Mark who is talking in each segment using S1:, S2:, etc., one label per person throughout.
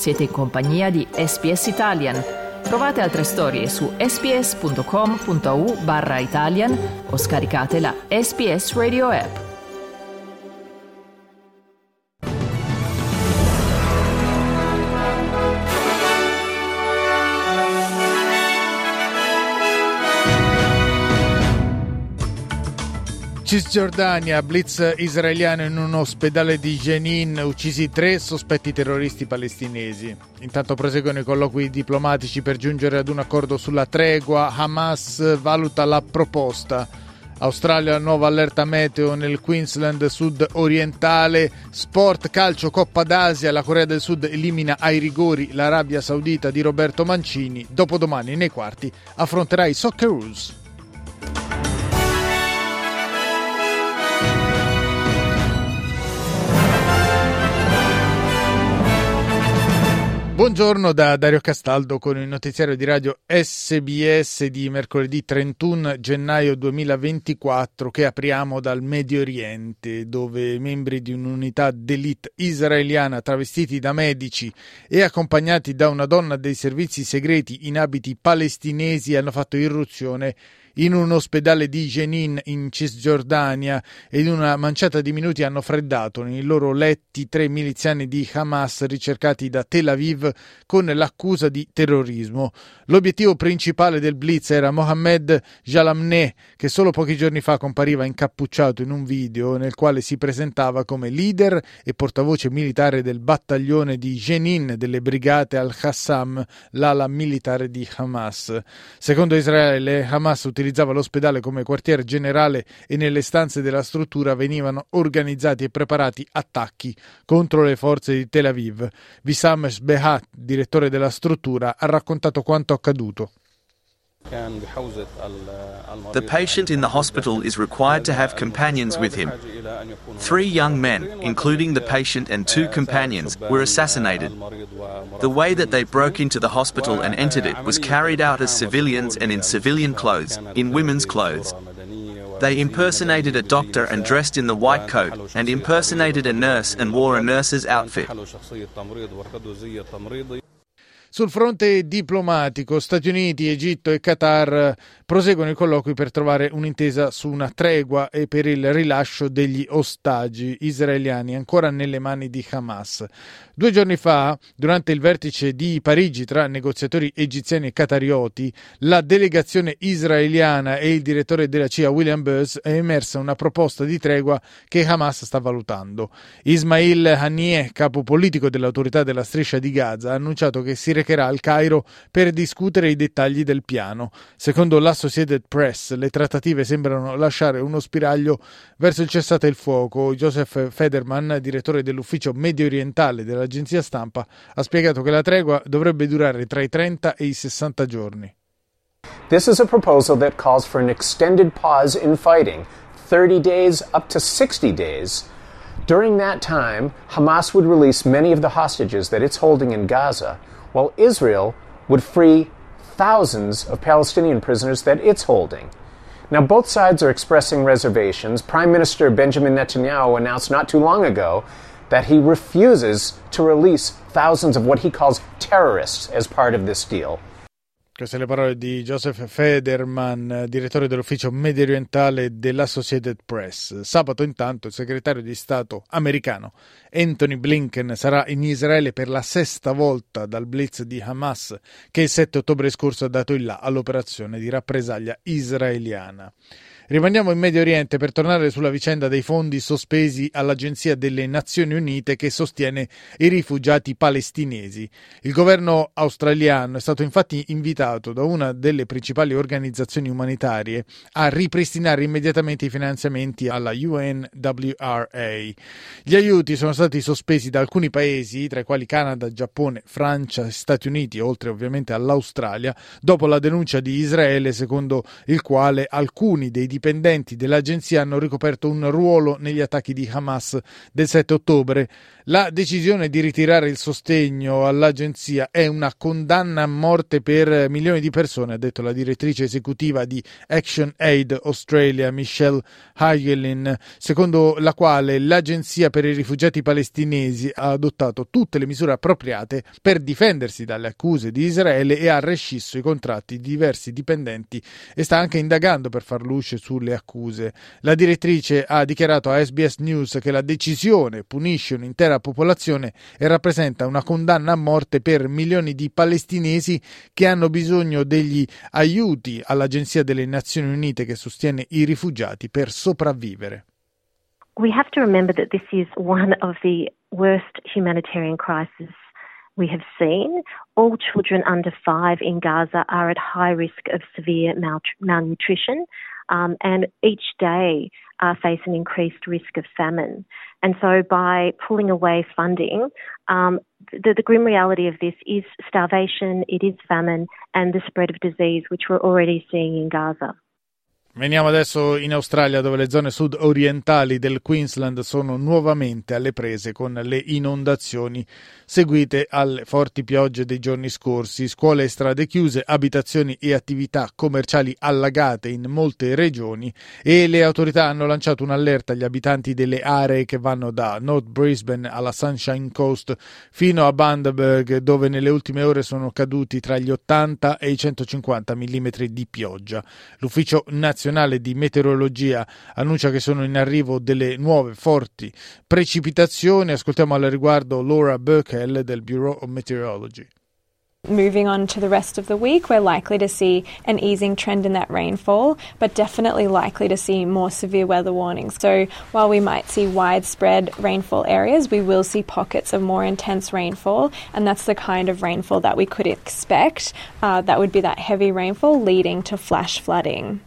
S1: Siete in compagnia di SBS Italian. Trovate altre storie su sbs.com.au/Italian o scaricate la SBS Radio app.
S2: Cisgiordania, blitz israeliano in un ospedale di Jenin, uccisi 3 sospetti terroristi palestinesi. Intanto proseguono i colloqui diplomatici per giungere ad un accordo sulla tregua. Hamas valuta la proposta. Australia, nuova allerta meteo nel Queensland sud-orientale. Sport, calcio, Coppa d'Asia. La Corea del Sud elimina ai rigori l'Arabia Saudita di Roberto Mancini. Dopodomani nei quarti affronterà i Socceroos. Buongiorno da Dario Castaldo con il notiziario di radio SBS di mercoledì 31 gennaio 2024 che apriamo dal Medio Oriente, dove membri di un'unità d'élite israeliana travestiti da medici e accompagnati da una donna dei servizi segreti in abiti palestinesi hanno fatto irruzione in un ospedale di Jenin in Cisgiordania e in una manciata di minuti hanno freddato nei loro letti 3 miliziani di Hamas ricercati da Tel Aviv con l'accusa di terrorismo. L'obiettivo principale del blitz era Mohammed Jalamneh, che solo pochi giorni fa compariva incappucciato in un video nel quale si presentava come leader e portavoce militare del battaglione di Jenin delle brigate al-Qassam, l'ala militare di Hamas. Secondo Israele, Hamas utilizzava l'ospedale come quartier generale e nelle stanze della struttura venivano organizzati e preparati attacchi contro le forze di Tel Aviv. Wissam Shbehat, direttore della struttura, ha raccontato quanto accaduto.
S3: The patient in the hospital is required to have companions with him. 3 young men, including the patient and 2 companions, were assassinated. The way that they broke into the hospital and entered it was carried out as civilians and in civilian clothes, in women's clothes. They impersonated a doctor and dressed in the white coat, and impersonated a nurse and wore a nurse's outfit.
S2: Sul fronte diplomatico, Stati Uniti, Egitto e Qatar proseguono i colloqui per trovare un'intesa su una tregua e per il rilascio degli ostaggi israeliani ancora nelle mani di Hamas. 2 giorni fa, durante il vertice di Parigi tra negoziatori egiziani e qatarioti, la delegazione israeliana e il direttore della CIA William Burns è emersa una proposta di tregua che Hamas sta valutando. Ismail Haniyeh, capo politico dell'autorità della striscia di Gaza, ha annunciato che si recherà al Cairo per discutere i dettagli del piano. Secondo l'Associated Press, le trattative sembrano lasciare uno spiraglio verso il cessate il fuoco. Joseph Federman, direttore dell'ufficio medio orientale dell'agenzia stampa, ha spiegato che la tregua dovrebbe durare tra i 30 e i 60 giorni.
S4: This is a proposal that calls for an extended pause in fighting, 30 days up to 60 days. During that time, Hamas would release many of the hostages that it's holding in Gaza, while Israel would free thousands of Palestinian prisoners that it's holding. Now, both sides are expressing reservations. Prime Minister Benjamin Netanyahu announced not too long ago that he refuses to release thousands of what he calls terrorists as part of this deal.
S2: Queste le parole di Joseph Federman, direttore dell'ufficio medio orientale dell'Associated Press. Sabato intanto il segretario di Stato americano Anthony Blinken sarà in Israele per la 6ª volta dal blitz di Hamas che il 7 ottobre scorso ha dato il là all'operazione di rappresaglia israeliana. Rimaniamo in Medio Oriente per tornare sulla vicenda dei fondi sospesi all'Agenzia delle Nazioni Unite che sostiene i rifugiati palestinesi. Il governo australiano è stato infatti invitato da una delle principali organizzazioni umanitarie a ripristinare immediatamente i finanziamenti alla UNWRA. Gli aiuti sono stati sospesi da alcuni paesi, tra i quali Canada, Giappone, Francia e Stati Uniti, oltre ovviamente all'Australia, dopo la denuncia di Israele secondo il quale alcuni dei dipendenti dell'agenzia hanno ricoperto un ruolo negli attacchi di Hamas del 7 ottobre. La decisione di ritirare il sostegno all'agenzia è una condanna a morte per milioni di persone, ha detto la direttrice esecutiva di Action Aid Australia, Michelle Hagelin, secondo la quale l'agenzia per i rifugiati palestinesi ha adottato tutte le misure appropriate per difendersi dalle accuse di Israele e ha rescisso i contratti di diversi dipendenti e sta anche indagando per far luce sulle accuse. La direttrice ha dichiarato a SBS News che la decisione punisce un'intera popolazione e rappresenta una condanna a morte per milioni di palestinesi che hanno bisogno degli aiuti all'Agenzia delle Nazioni Unite che sostiene i rifugiati per sopravvivere.
S5: We have to remember that this is one of the worst humanitarian crises we have seen. All children under 5 in Gaza are at high risk of severe malnutrition, and each day face an increased risk of famine. And so by pulling away funding, the grim reality of this is starvation, it is famine, and the spread of disease, which we're already seeing in Gaza.
S2: Veniamo adesso in Australia, dove le zone sud-orientali del Queensland sono nuovamente alle prese con le inondazioni seguite alle forti piogge dei giorni scorsi. Scuole e strade chiuse, abitazioni e attività commerciali allagate in molte regioni e le autorità hanno lanciato un'allerta agli abitanti delle aree che vanno da North Brisbane alla Sunshine Coast fino a Bundaberg, dove nelle ultime ore sono caduti tra gli 80 e i 150 mm di pioggia. L'Ufficio Nazionale di Meteorologia annuncia che sono in arrivo delle nuove forti precipitazioni. Ascoltiamo al riguardo Laura Burkell del Bureau of Meteorology.
S6: Moving on to the rest of the week, we're likely to see an easing trend in that rainfall, but definitely likely to see more severe weather warnings. So while we might see widespread rainfall areas, we will see pockets of more intense rainfall, and that's the kind of rainfall that we could expect. That would be that heavy rainfall leading to flash flooding.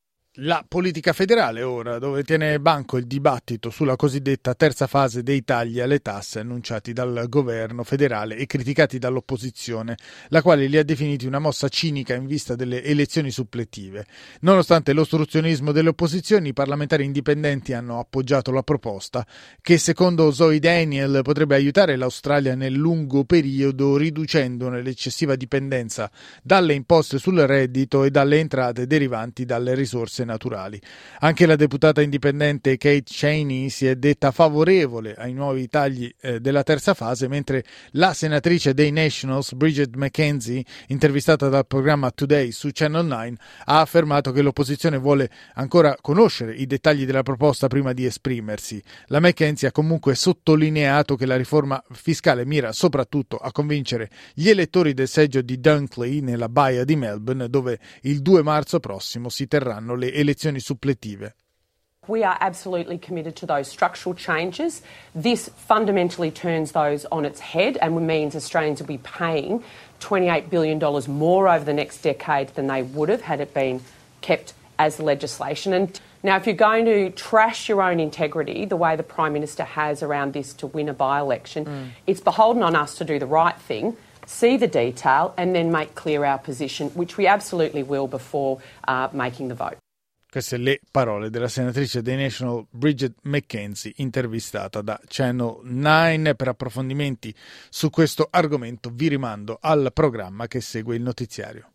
S2: La politica federale ora, dove tiene banco il dibattito sulla cosiddetta terza fase dei tagli alle tasse annunciati dal governo federale e criticati dall'opposizione, la quale li ha definiti una mossa cinica in vista delle elezioni suppletive. Nonostante l'ostruzionismo delle opposizioni, i parlamentari indipendenti hanno appoggiato la proposta, che secondo Zoe Daniel potrebbe aiutare l'Australia nel lungo periodo, riducendone l'eccessiva dipendenza dalle imposte sul reddito e dalle entrate derivanti dalle risorse naturali. Anche la deputata indipendente Kate Cheney si è detta favorevole ai nuovi tagli della terza fase, mentre la senatrice dei Nationals Bridget McKenzie, intervistata dal programma Today su Channel 9, ha affermato che l'opposizione vuole ancora conoscere i dettagli della proposta prima di esprimersi. La McKenzie ha comunque sottolineato che la riforma fiscale mira soprattutto a convincere gli elettori del seggio di Dunkley nella baia di Melbourne, dove il 2 marzo prossimo si terranno le elezioni suppletive.
S7: We are absolutely committed to those structural changes. This fundamentally turns those on its head and means Australians will be paying $28 billion more over the next decade than they would have had it been kept as legislation. And now, if you're going to trash your own integrity the way the Prime Minister has around this to win a by-election, it's beholden on us to do the right thing, see the detail and then make clear our position, which we absolutely will before making the vote.
S2: Queste le parole della senatrice dei National Bridget McKenzie, intervistata da Channel 9. Per approfondimenti su questo argomento vi rimando al programma che segue il notiziario.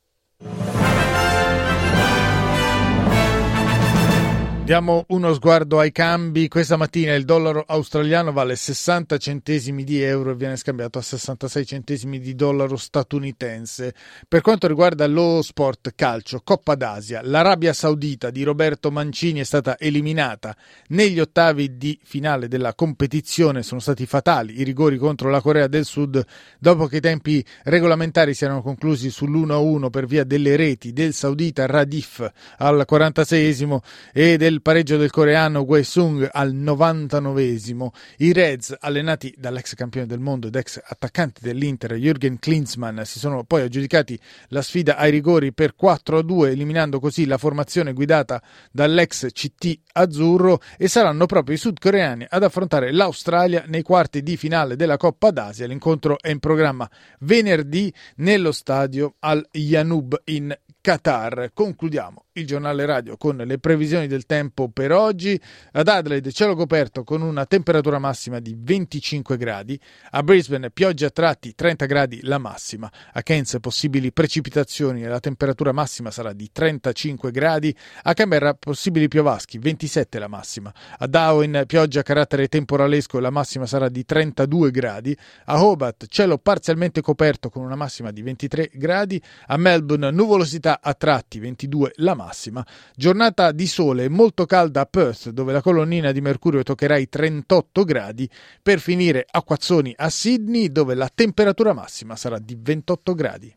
S2: Diamo uno sguardo ai cambi. Questa mattina il dollaro australiano vale 60 centesimi di euro e viene scambiato a 66 centesimi di dollaro statunitense. Per quanto riguarda lo sport calcio, Coppa d'Asia, l'Arabia Saudita di Roberto Mancini è stata eliminata negli ottavi di finale della competizione. Sono stati fatali i rigori contro la Corea del Sud dopo che i tempi regolamentari si erano conclusi sull'1-1 per via delle reti del saudita Radif al 46esimo e del pareggio del coreano Wei-sung al 99esimo. I Reds, allenati dall'ex campione del mondo ed ex attaccante dell'Inter Jürgen Klinsmann, si sono poi aggiudicati la sfida ai rigori per 4-2, eliminando così la formazione guidata dall'ex CT azzurro, e saranno proprio i sudcoreani ad affrontare l'Australia nei quarti di finale della Coppa d'Asia. L'incontro è in programma venerdì nello stadio Al Yanub in Qatar. Concludiamo il giornale radio con le previsioni del tempo per oggi. Ad Adelaide cielo coperto con una temperatura massima di 25 gradi, a Brisbane pioggia a tratti 30 gradi la massima, a Cairns possibili precipitazioni e la temperatura massima sarà di 35 gradi, a Canberra possibili piovaschi 27 la massima, a Darwin pioggia a carattere temporalesco e la massima sarà di 32 gradi, a Hobart cielo parzialmente coperto con una massima di 23 gradi, a Melbourne nuvolosità a tratti 22 la massima, giornata di sole molto calda a Perth dove la colonnina di mercurio toccherà i 38 gradi, per finire acquazzoni a Sydney dove la temperatura massima sarà di 28 gradi.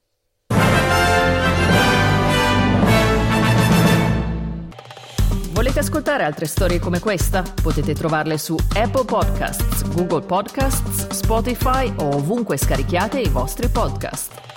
S1: Volete ascoltare altre storie come questa? Potete trovarle su Apple Podcasts, Google Podcasts, Spotify o ovunque scarichiate i vostri podcast.